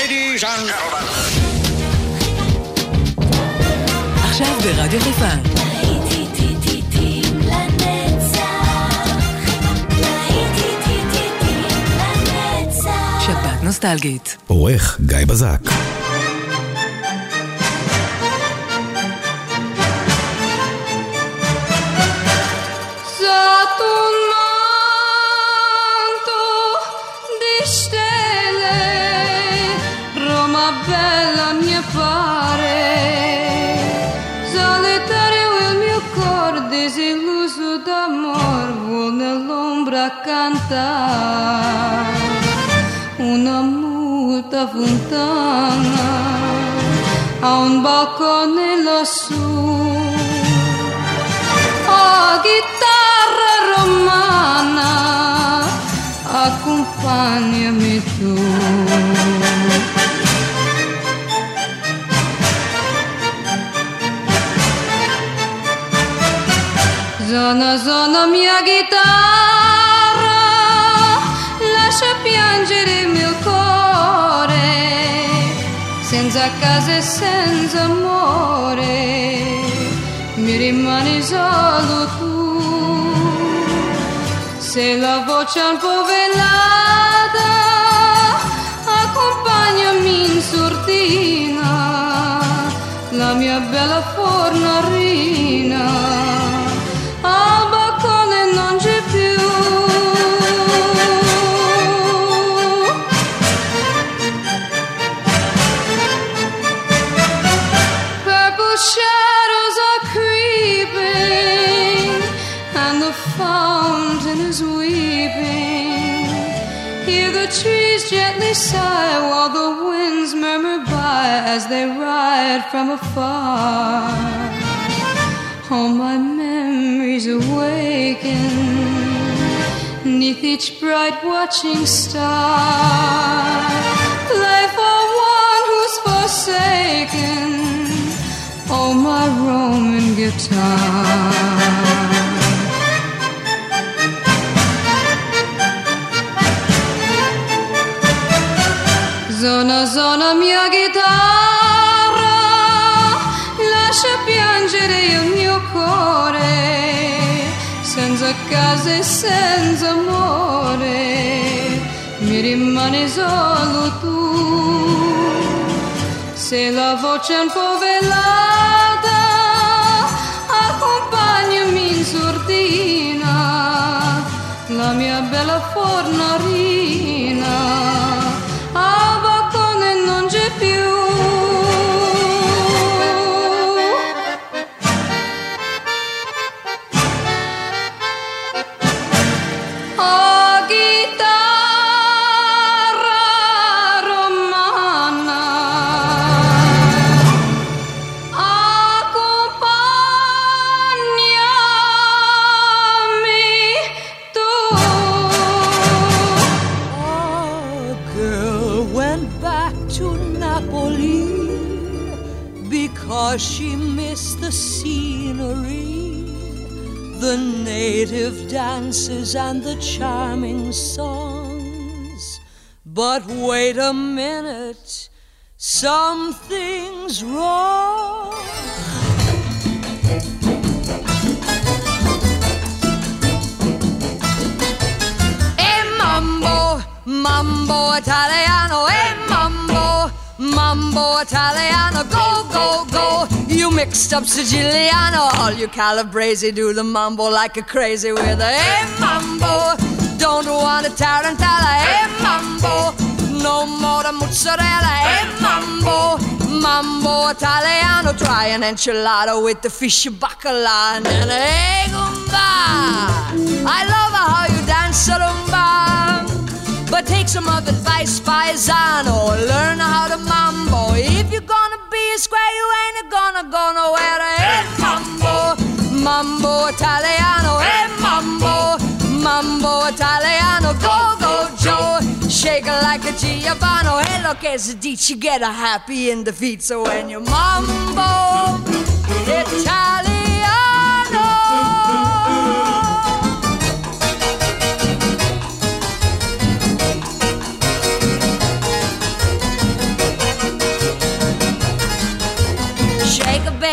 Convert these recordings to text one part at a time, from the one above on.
Ladies and gentlemen. עכשיו ברדיו חיפה. שבת נוסטלגית. עורך גיא בזק. Una muta fontana a un balcone lassù. Oh, chitarra romana, accompagnami tu. Zona, zona mia chitarra, lascia piangere il mio cuore, senza casa e senza amore, mi rimani solo tu. Se la voce è un po' velata, accompagnami in sordina, la mia bella fornarina, al balcone non c'è più. Shadows are creeping and the fountain is weeping. Hear the trees gently sigh while the winds murmur by as they ride from afar. All my memories awaken 'neath each bright watching star. Play for one who's forsaken, oh my Roman guitar. Zona, zona mia chitarra, lascia piangere il mio cuore, senza casa e senza amore, mi rimane solo tu. Se la voce è un po' velata, accompagnami in sordina, la mia bella fornarina, al balcone non c'è più. Oh, chitarra romana, she missed the scenery, the native dances and the charming songs. But wait a minute, something's wrong. Mambo Italiano, Mambo Italiano, go, go, go. You mixed up Siciliano, all you Calabrese do the mambo like a crazy with a mambo. Don't want a tarantella, mambo. No more the mozzarella, mambo. Mambo Italiano, try an enchilada with the fish bacala and then gumba. I love how you dance rumba. But take some of advice, paisano, learn how to mambo. If you're gonna be a square, you ain't gonna go nowhere. Hey, mambo, Mambo Italiano, hey, mambo, Mambo Italiano, go, go, Joe. Shake it like a Giovanni. Hey, look, as a ditch, you get a happy in the feet. So when you mambo Italiano.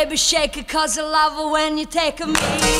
baby, shake it, 'cause I love her when you take me.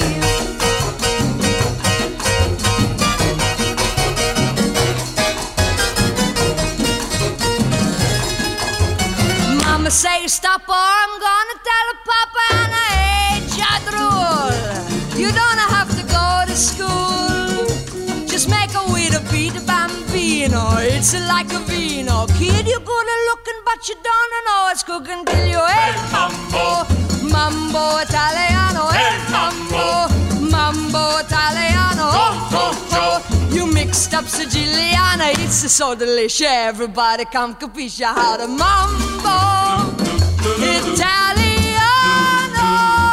Mama say stop or I'm gonna tell her Papa, and I ain't just rule. You don't have to go to school. Just make a way to beat a bambino. It's like a vino. Kid, you're good at looking, but you don't know it's cooking till you hey mambo, mambo Italiano, hey mambo, mambo Italiano. Oh, oh, oh. You mixed up Siciliana, it's so delicious. Everybody come capisce how to mambo Italiano.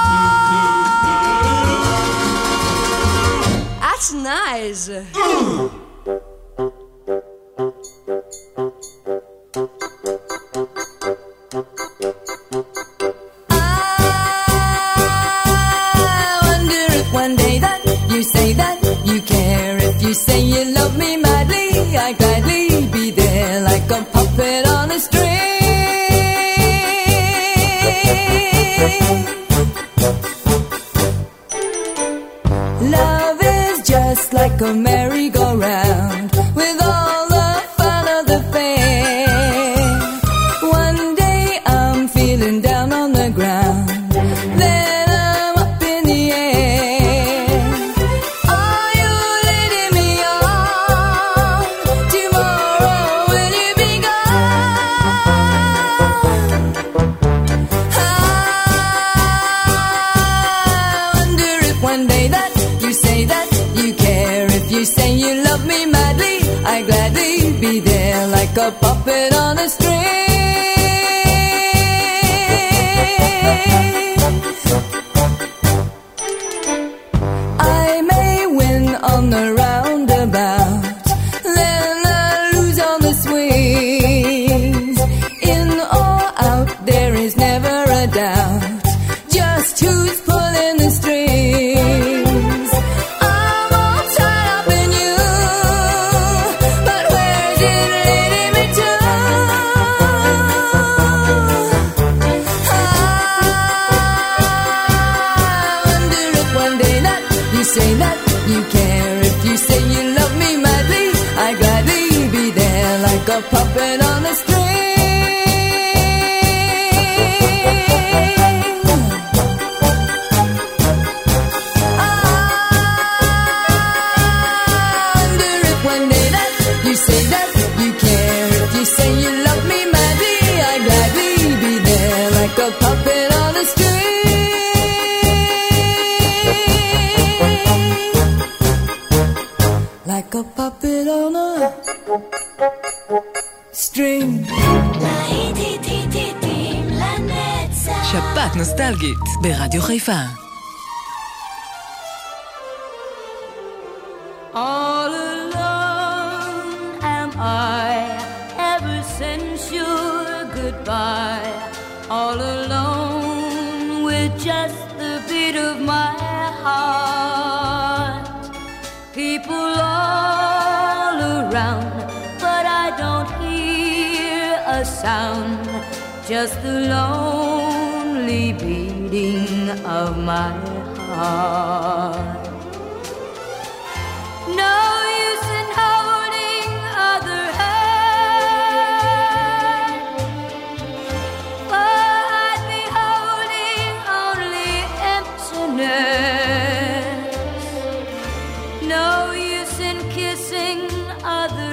That's nice. I wonder if one day that you say that you care, if you say you love me madly, I'd gladly be there like a puppet on a string. Love is just like a merry-go-round with all the fun of the fair. One day I'm feeling down on the ground, then I'm up in the air. Are you leading me on? Tomorrow will you be gone? I wonder if one day that you say that you care, if you say you love me madly, I'd gladly be there like a puppet on a string. I may win on the roundabout, then I lose on the swings. In or out, there is never a doubt just who's pulling the strings. I'm all tied up in you, but where's it leading me to? I wonder if one day that you say that you care, if you say you love me madly, I'd gladly be there like a puppet on a string. I wonder if one day that you say that you care, if you say you love me madly, I'd gladly be there like a puppet on a string. Like a puppet on a string. שפעת נוסטלגית ברדיו חיפה. All alone am I ever since your goodbye. All alone with just the beat of my heart. People all around, but I don't hear a sound. Just the lonely beating of my heart. No use in holding other hand, for I'd be holding only emptiness. No use in kissing other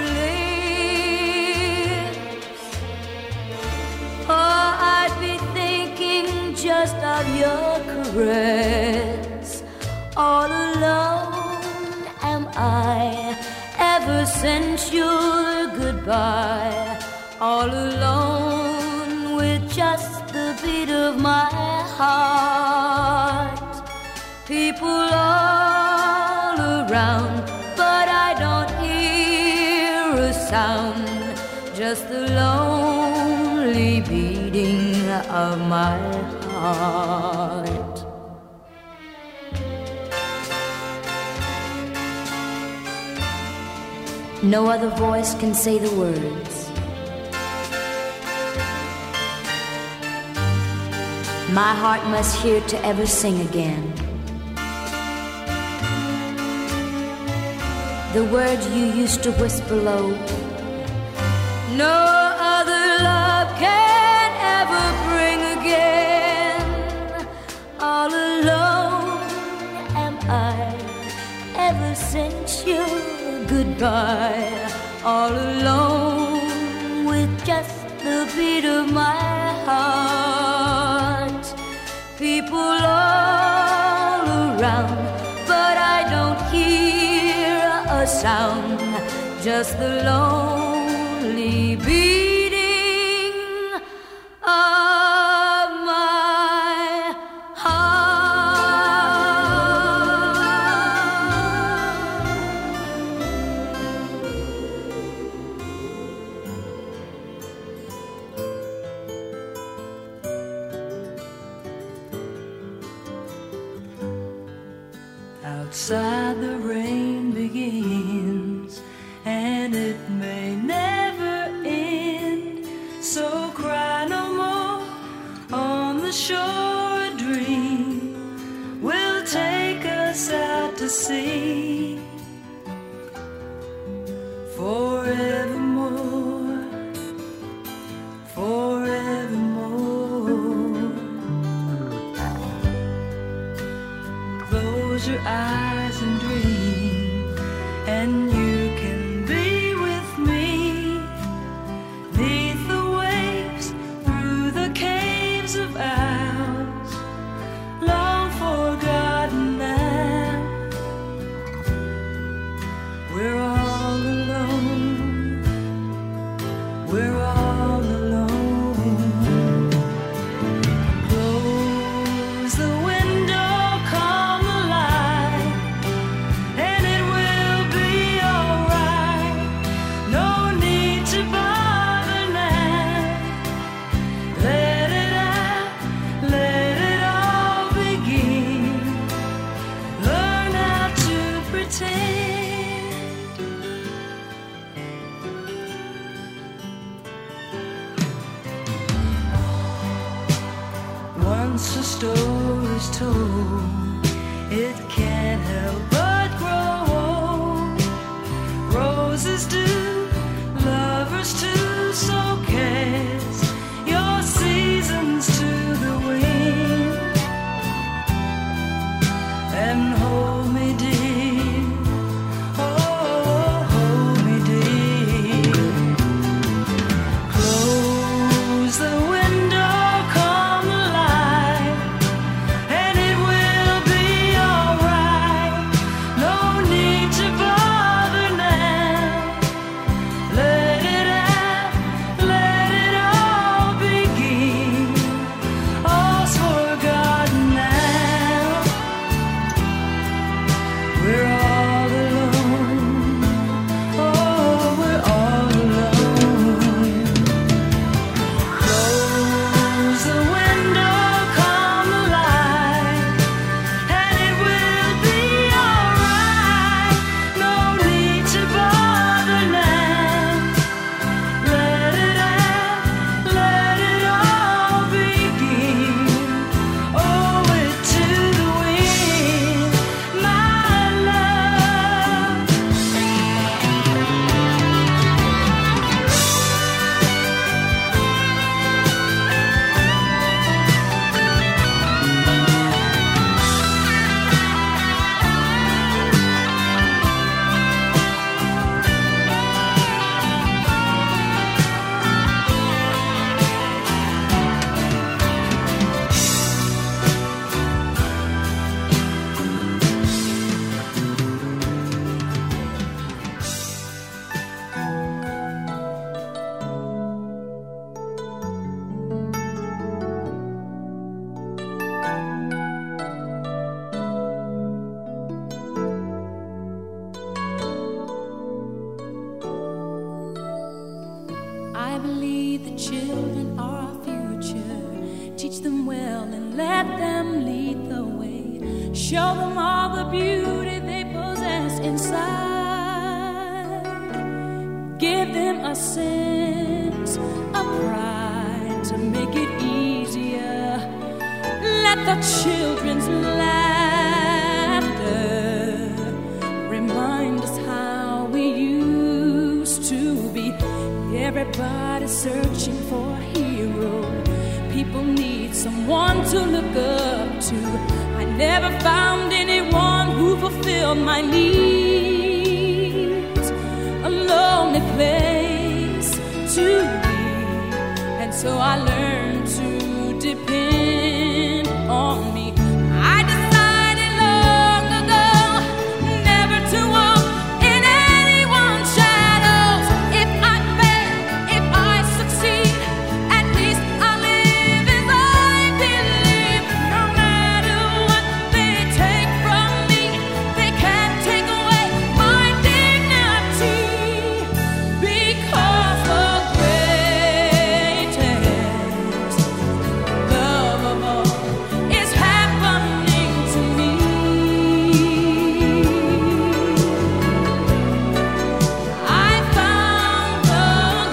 lips, for I'd be thinking just of your caress. All alone am I ever since your goodbye. All alone with just the beat of my heart. People all around, but I don't hear a sound. Just the lonely beating of my heart. No other voice can say the words. my heart must hear to ever sing again. The words you used to whisper low, no other love can ever bring again. All alone am I ever since your goodbye. All alone with just the beat of my heart. People all around, but I don't hear a sound, just the lonely beating of my Outside the rain begins, and it may never end. So cry no more on the shore. A dream will take us out to sea forevermore, forevermore. Close your eyes and dream, and you can be with me, 'neath the waves, through the caves of ours, long forgotten now. We're all alone, we're all alone. Close the window, calm the light, and it will be alright. No need to bother now. Let it out, let it all begin. Learn how to pretend. Once a story's told, it can't help but grow old. Roses do, lovers too, so cast your seasons to the wind and hold me dear, oh, hold me dear. Close the window, calm the light, and it will be alright. No need to bother now. Let it out, let it all begin. All's forgotten now. We're all alone, oh, we're all alone. Close the window, calm the light, and it will be alright. No need to bother now. Let it out, let it all begin. Owe it to the wind, my love. I believe the children are our future. Teach them well and let them lead the way. Show them all the beauty they possess inside. Give them a sense of pride to make it easier the children's laughter remind us how we used to be. Everybody searching for a hero. People need someone to look up to. I never found anyone who fulfilled my needs. A lonely place to be, and so I learned to depend on me. I decided long ago never to walk in anyone's shadows. If I fail, if I succeed, at least I'll live as I believe. No matter what they take from me, they can't take away my dignity, because the greatest love of all is happening to me. I found the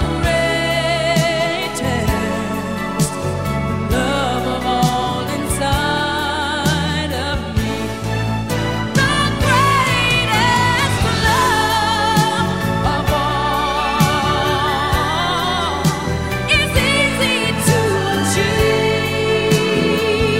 greatest love of all inside of me. The greatest love of all is easy to achieve.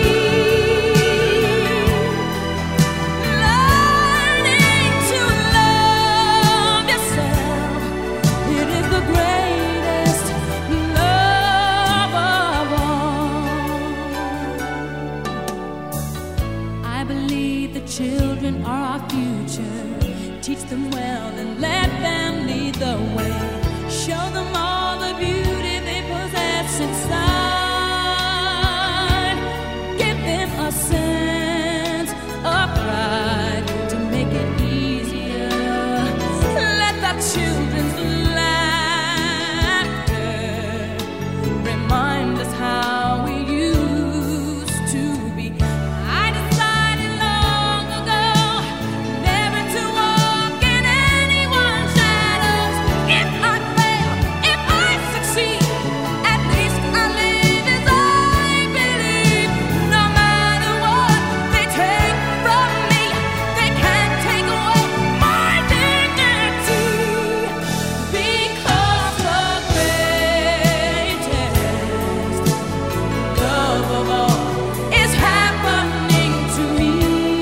Learning to love yourself, it is the greatest love of all. I believe the children are our future. Teach them well and let them lead the way. Show them all the beauty they possess inside. Give them a sense of pride to make it easier. Let the children's laughter remind us how we used to be. I decided long ago never to walk in anyone's shadows. If I fail, if I succeed, at least I live as I believe. No matter what they take from me, they can't take away my dignity, because the greatest love of all is happening to me.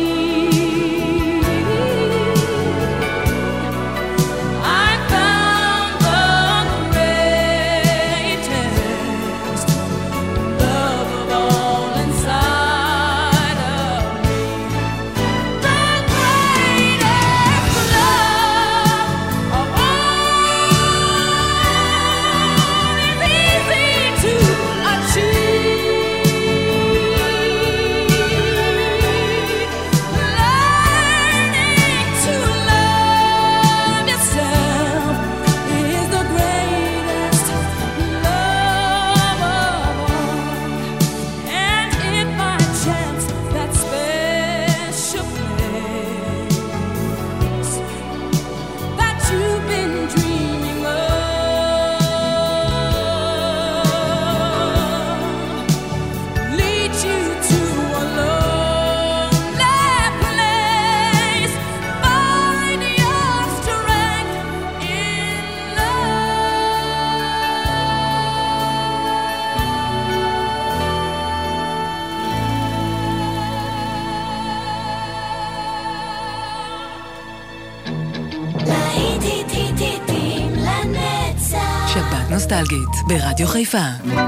I found the greatest love of all inside of me. The greatest love of all is easy to achieve. Learning to love yourself is the greatest love of all. And if by chance that special place that you've been dreaming of leads you to a lonely place, find your strength in להיטים לנצח. שבת נוסטלגית ברדיו חיפה.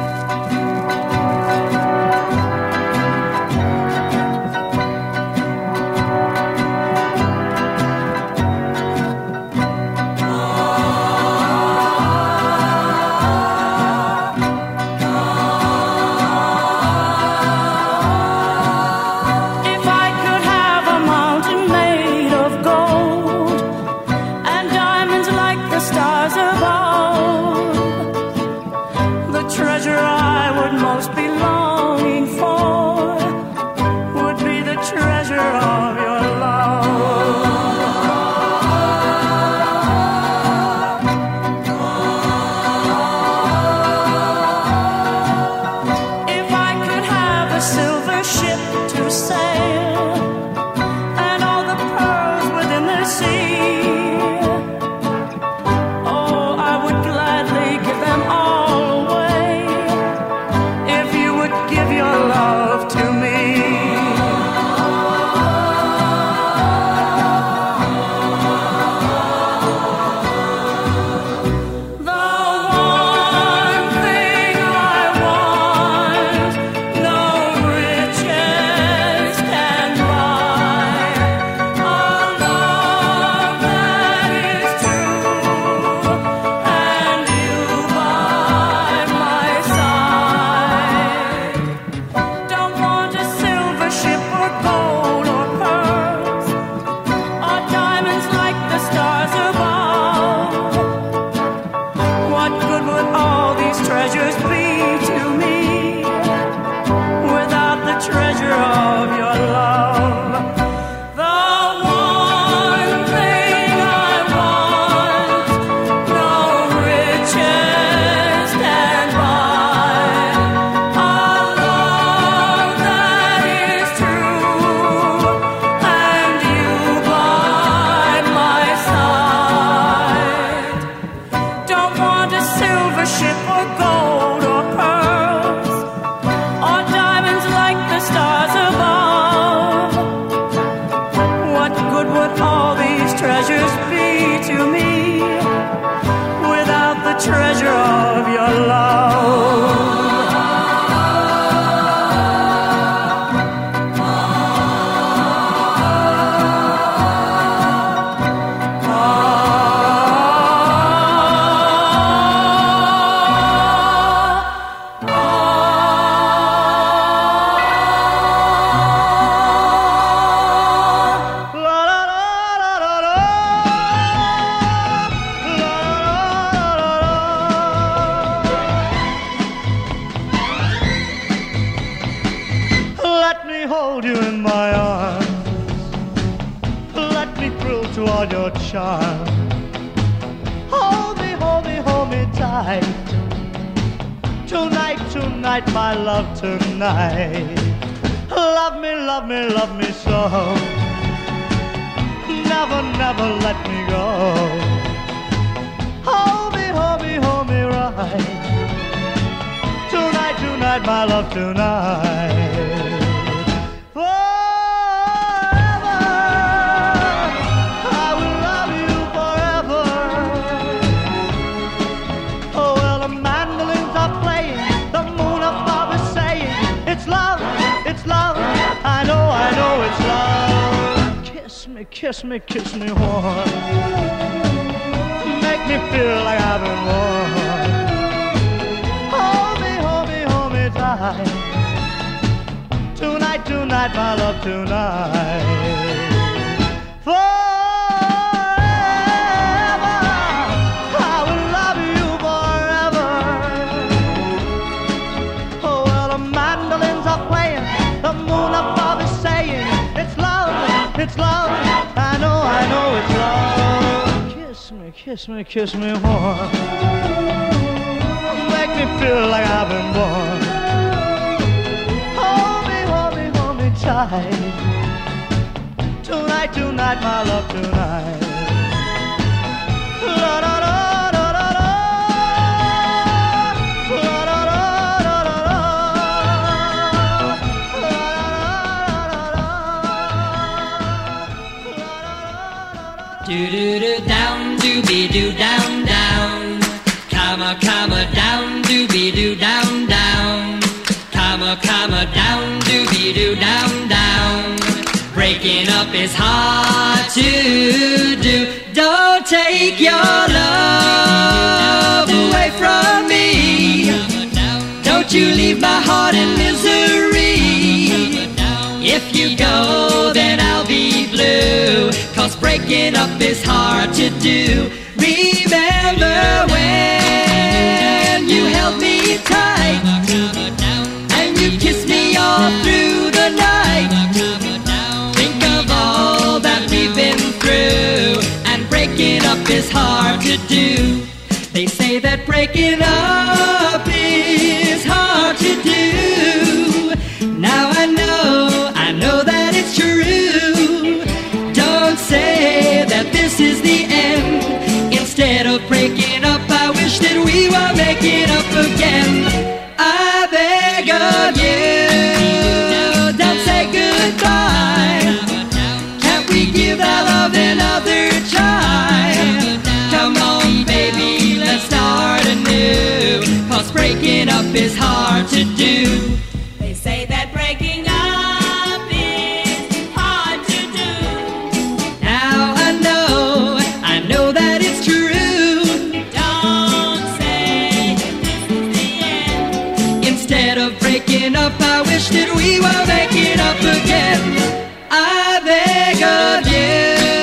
If I could have a mountain made of gold and diamonds like the stars above, the treasure I would most be longing for would be the treasure of your love. If I could have a silver ship hold you in my arms. Let me thrill to all your charms. Hold me, hold me, hold me tight. Tonight, tonight, my love, tonight. Love me, love me, love me so. Never, never let me go. Hold me, hold me, hold me right. Tonight, tonight, my love, tonight. Forever, I will love you forever. Oh, well, the mandolins are playing, the moon above is saying, it's love, it's love. I know it's love. Kiss me, kiss me, kiss me warm. Make me feel like I've been born. Hold me, hold me, hold me tight. Tonight, tonight, my love, tonight. Forever, I will love you forever. Oh, well, the mandolins are playing, the moon above is saying, it's love, it's love. I know it's love. Kiss me, kiss me, kiss me warm. Make me feel like I've been born. Hold me, hold me, hold me tight. Tonight, tonight, my love, tonight. La da da da da da. La da da da da da. Do do do down, dooby doo down down. Comma comma down, dooby doo down down. Comma comma down, dooby doo down down. Breaking up is hard to do. Don't take your love away from me. Don't you leave my heart in misery. If you go, then I'll be blue. 'Cause breaking up is hard to do. Remember when you held me tight and you kissed me all through the night. Think of all that we've been through, and breaking up is hard to do. They say that breaking up is hard to do. Now I know that it's true. Don't say that this is the end. Instead of breaking up, I wish that we were making up again. I beg of you, don't say goodbye. Can't we give our love another try? Come on, baby, let's start anew. 'Cause breaking up is hard to do. They say that breaking up is hard to do. Now I know that it's true. Don't say that this is the end. Instead of breaking up, I wish that we were making up again. I beg of you,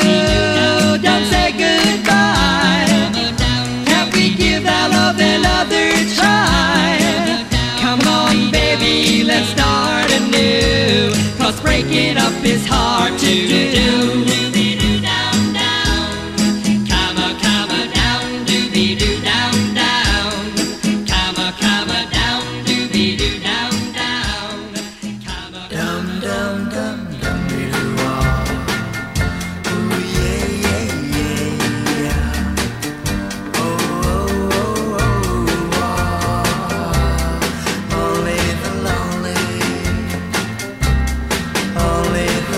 don't say goodbye. Can't we give our love another try? Come on, baby, let's start anew. 'Cause breaking up is hard to do. Only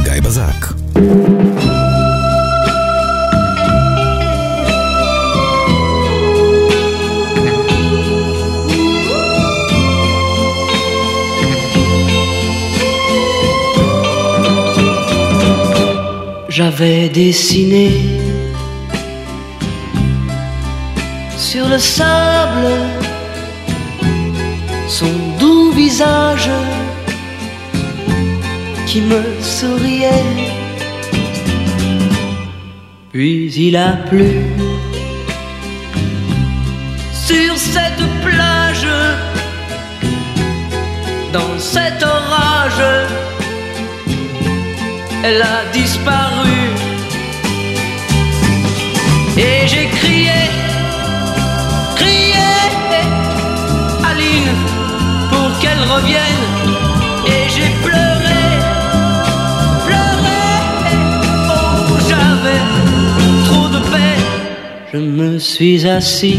גיא בזק. J'avais dessiné sur le sable son doux visage qui me souriait. Puis il a plu sur cette plage, dans cet orage. Elle a disparu et j'ai crié, crié, Aline, pour qu'elle revienne. Et j'ai pleuré, pleuré, oh j'avais trop de peine. Je me suis assis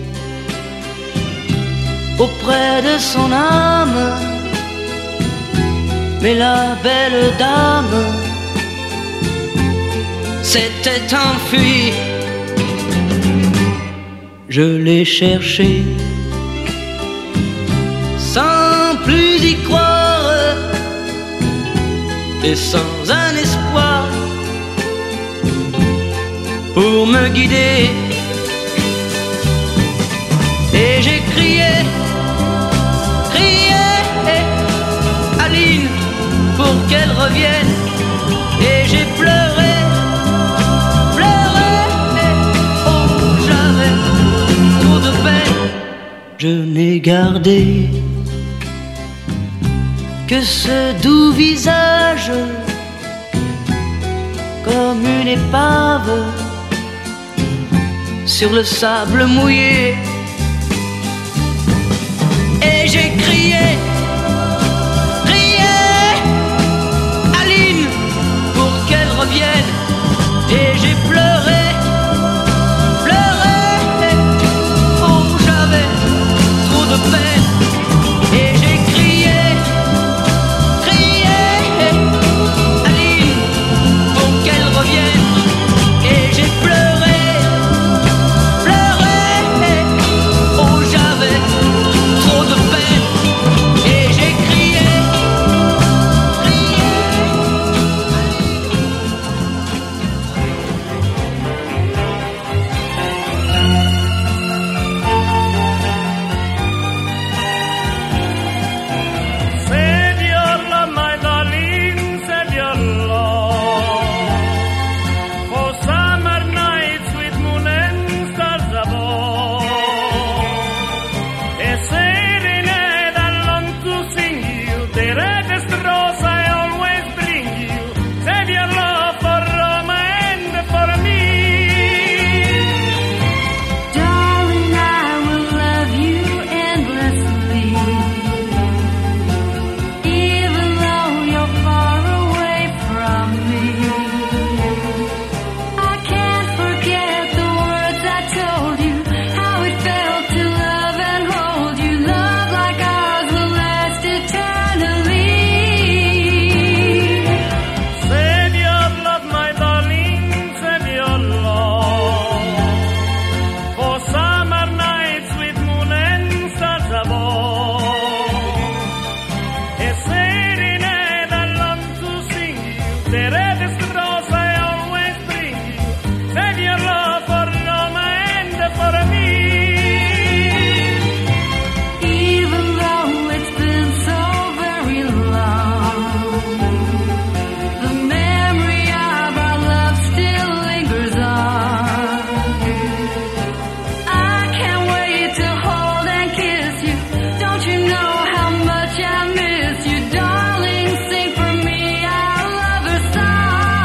auprès de son âme, mais la belle dame s'était enfuie. Je l'ai cherché sans plus y croire et sans un espoir pour me guider. Et j'ai crié, crié, Aline, pour qu'elle revienne. Et j'ai pleuré, pleuré, oh j'avais trop de peine. Je n'ai gardé que ce doux visage comme une épave sur le sable mouillé. Et j'ai crié, revienne. Et j'ai pleuré, pleuré, oh j'avais trop de peine. Et j'ai crié, crié, Aline, pour qu'elle revienne. Et j'ai pleuré, pleuré, oh j'avais trop de peine. Et j'ai crié, I miss you, darling, sing for me, I love her song.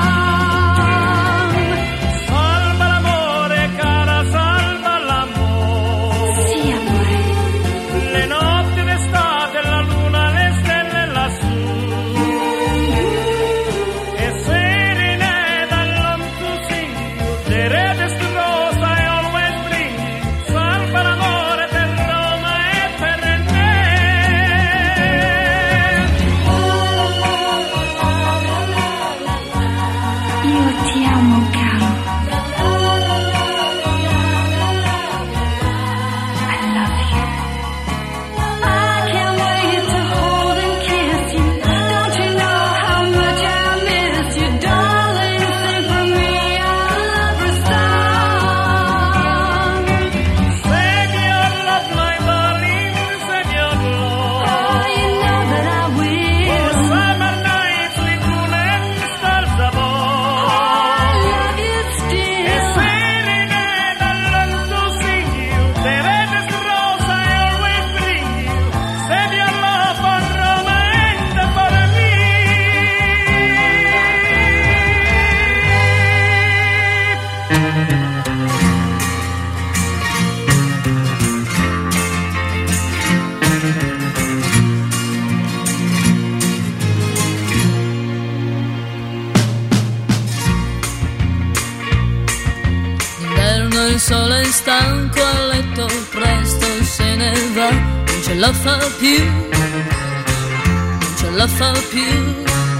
il sole è stanco a letto, presto se ne va, non ce la fa più, non ce la fa più.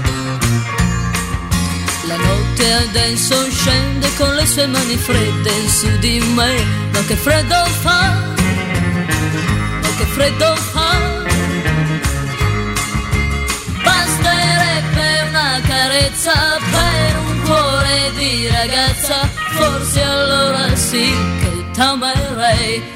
La notte adesso scende con le sue mani fredde su di me, ma che freddo fa, ma che freddo fa. Basterebbe una carezza per un cuore di ragazza, forse allora sì che t'amerei.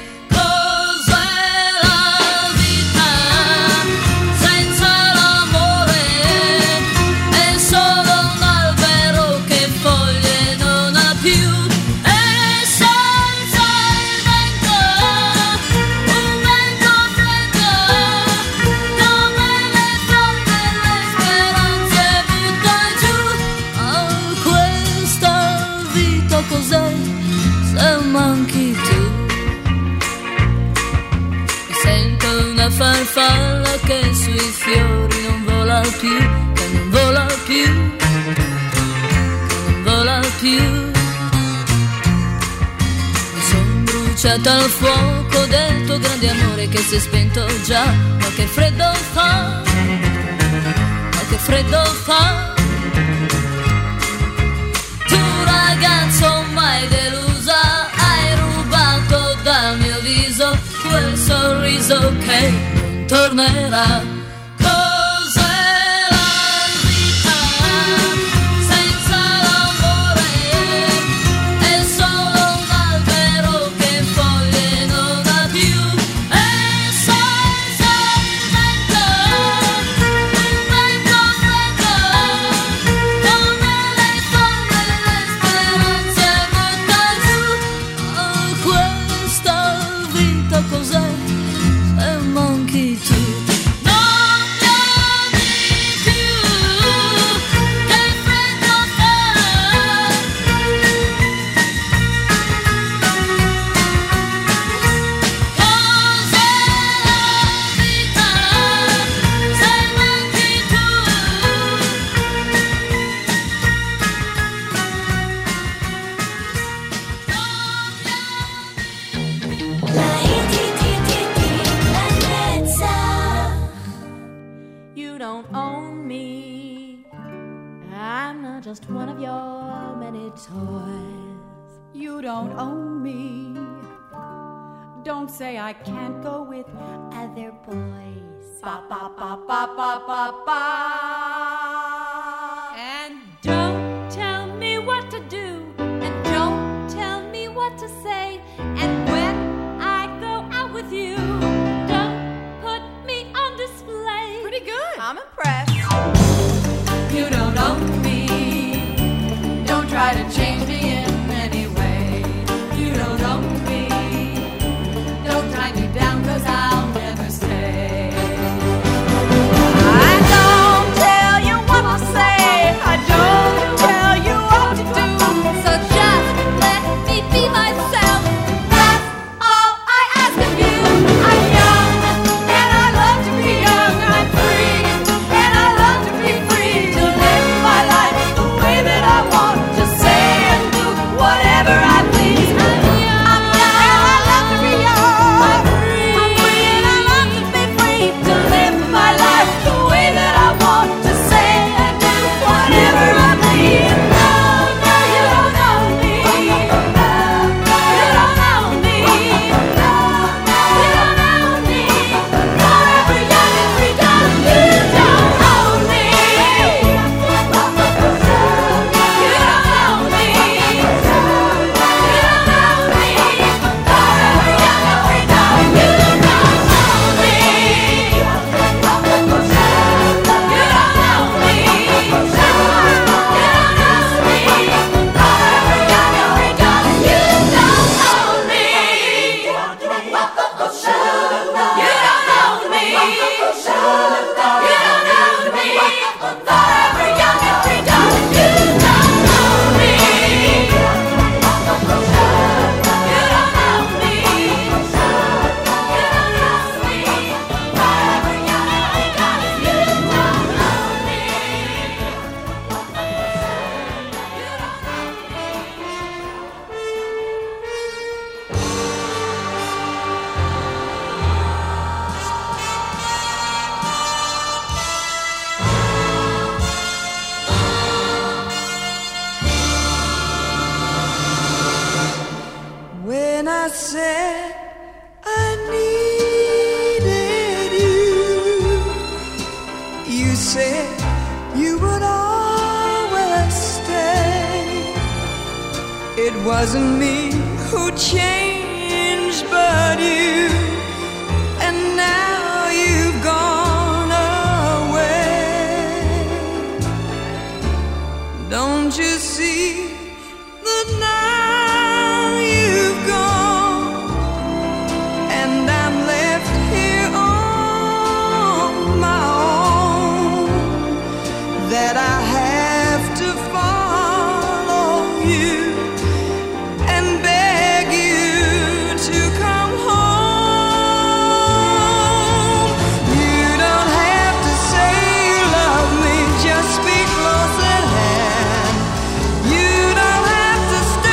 Farfalla che sui fiori non vola più, che non vola più, che non vola più. Mi son bruciata al fuoco del tuo grande amore che si è spento già, ma che freddo fa, ma che freddo fa. Tu ragazzo mai delusa, hai rubato dal mio viso quel sorriso che non tornerà. Cos'è la vita senza l'amore? È solo un albero che foglie non ha più, e senza il vento, un vento freddo, come le forme le speranze butta giù. Oh, questa vita cos'è? Se manchi tu, non mi ami più, che freddo fa. Cos'è la vita se manchi tu? You don't own me. I'm not just one of your many toys. You don't own me. Don't say I can't go with Other boys. ba ba ba ba ba ba ba. And don't tell me what to do, and don't tell me what to say. And when I go out with you, don't put me on display. Pretty good. I'm impressed. You don't own me. Don't try to change me in any way. You don't own me. Don't tie me down, 'cause I'll never stay. I don't tell you what to say. I don't tell you what to do. So just let me be myself. That's all I ask of you. I'm young, and I love to be young. I'm free, and I love to be free. To live my life the way that I want. Just say said I needed you. You said you would always stay. It wasn't me who changed but you, and now you've gone away. Don't you see that now you've gone, and I'm left here on my own, that I have to follow you and beg you to come home. You don't have to say you love me, just be close at hand. You don't have to stay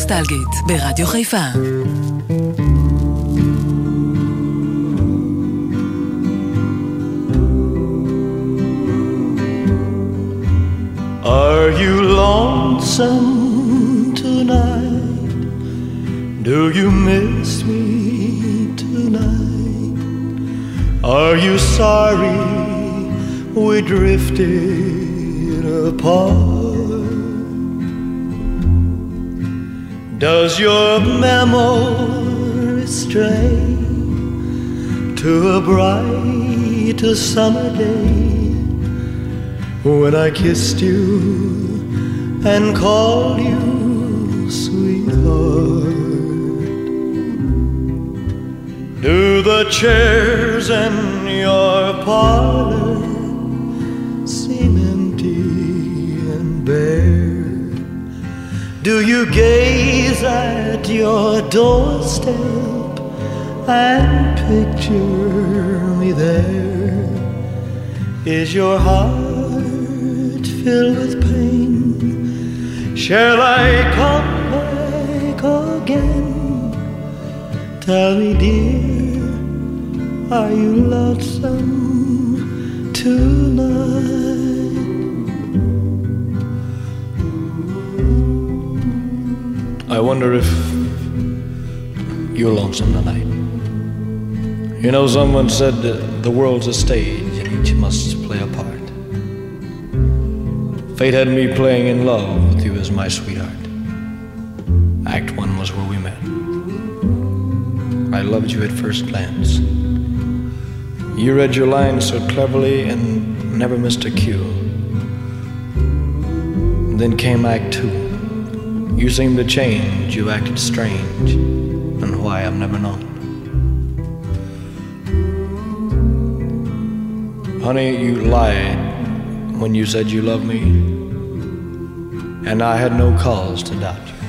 נוסטלגית ברדיו חיפה. Are you lonesome tonight? Do you miss me tonight? Are you sorry we drifted apart? Does your memory stray to a bright summer day when I kissed you and called you sweetheart? Do the chairs in your parlor seem empty and bare? Do you gaze at your doorstep and picture me there? Is your heart filled with pain? Shall I come back again? Tell me, dear, are you lonesome tonight? I wonder if you're lonesome tonight. You know, someone said the world's a stage and each must play a part. Fate had me playing in love with you as my sweetheart. Act 1 was where we met. I loved you at first glance. You read your lines so cleverly and never missed a cue. Then came Act 2. You seemed to change, you acted strange, and why I've never known. Honey, you lied when you said you loved me, and I had no cause to doubt you.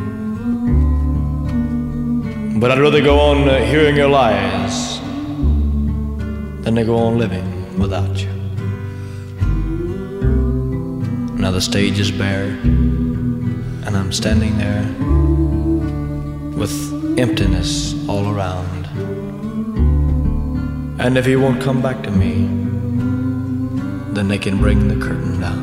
But I'd rather go on hearing your lies than to go on living without you. Now the stage is bare, and I'm standing there with emptiness all around. And if he won't come back to me, then they can bring the curtain down.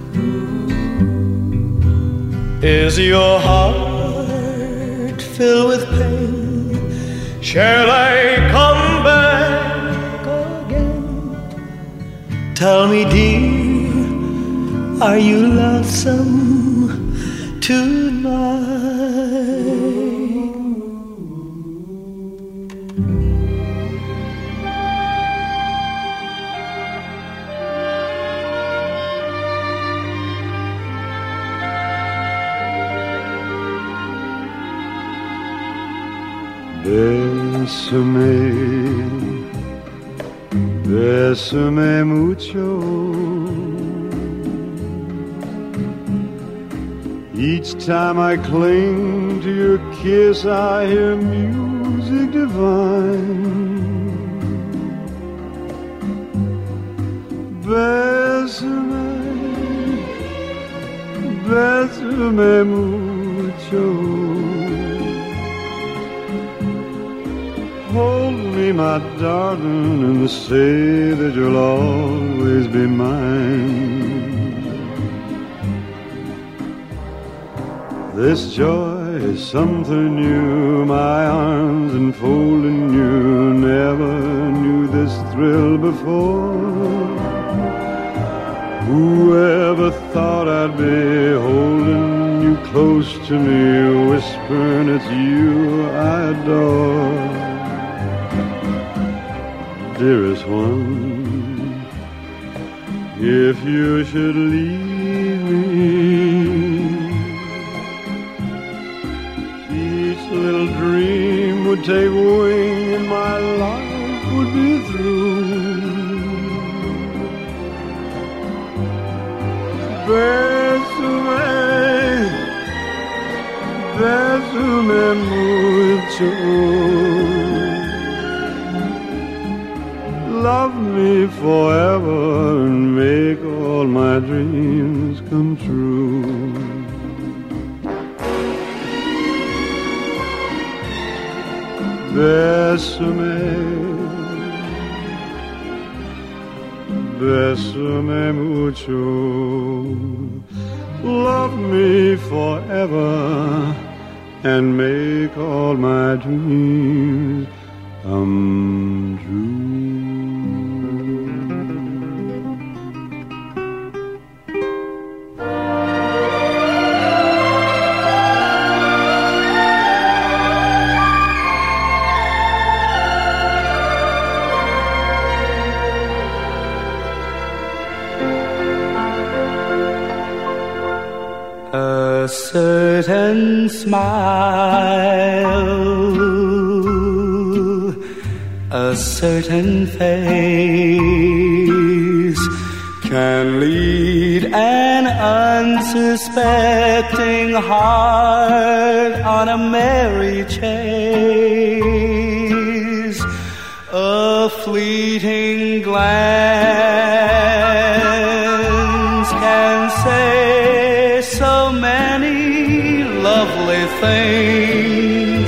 Is your heart filled with pain? Shall I come back again? Tell me, dear, are you lonesome tonight? Bésame, bésame mucho. Each time I cling to your kiss, I hear music divine. Bésame, bésame mucho. Hold me, my darling, and say that you'll always be mine. This joy is something new, my arms enfolding you. Never knew this thrill before. Whoever thought I'd be holding you close to me, whispering it's you I adore. Dearest one, if you should leave me, each little dream would take wing and my life would be through. Bésame, bésame mucho. Love me forever and make all my dreams come true. Bésame, bésame mucho. Love me forever and make all my dreams come true. A certain smile, a certain face can lead an unsuspecting heart on a merry chase. A fleeting glance can say so many lovely things.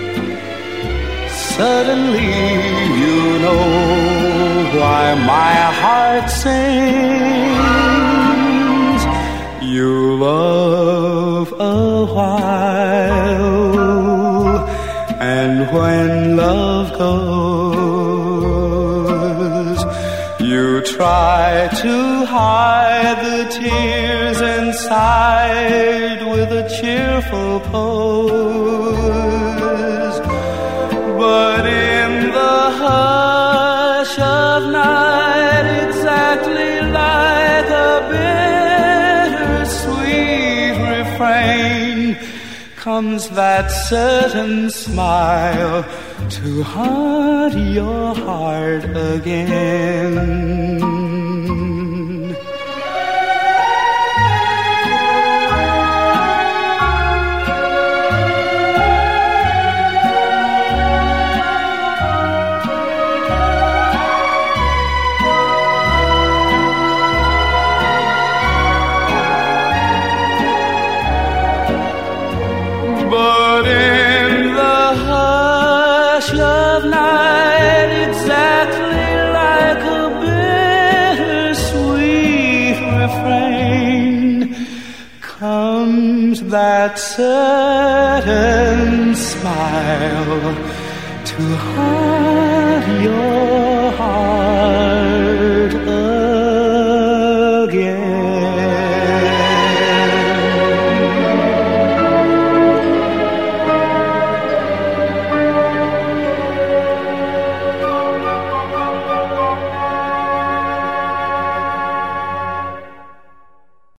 Suddenly you know why my heart sings. You love a while, and when love goes, you try to hide the tears inside with a cheerful pose. But in the hush of night, exactly like a bittersweet refrain, comes that certain smile to haunt your heart again. But in the hush of night, exactly like a bittersweet refrain, comes that certain smile to haunt your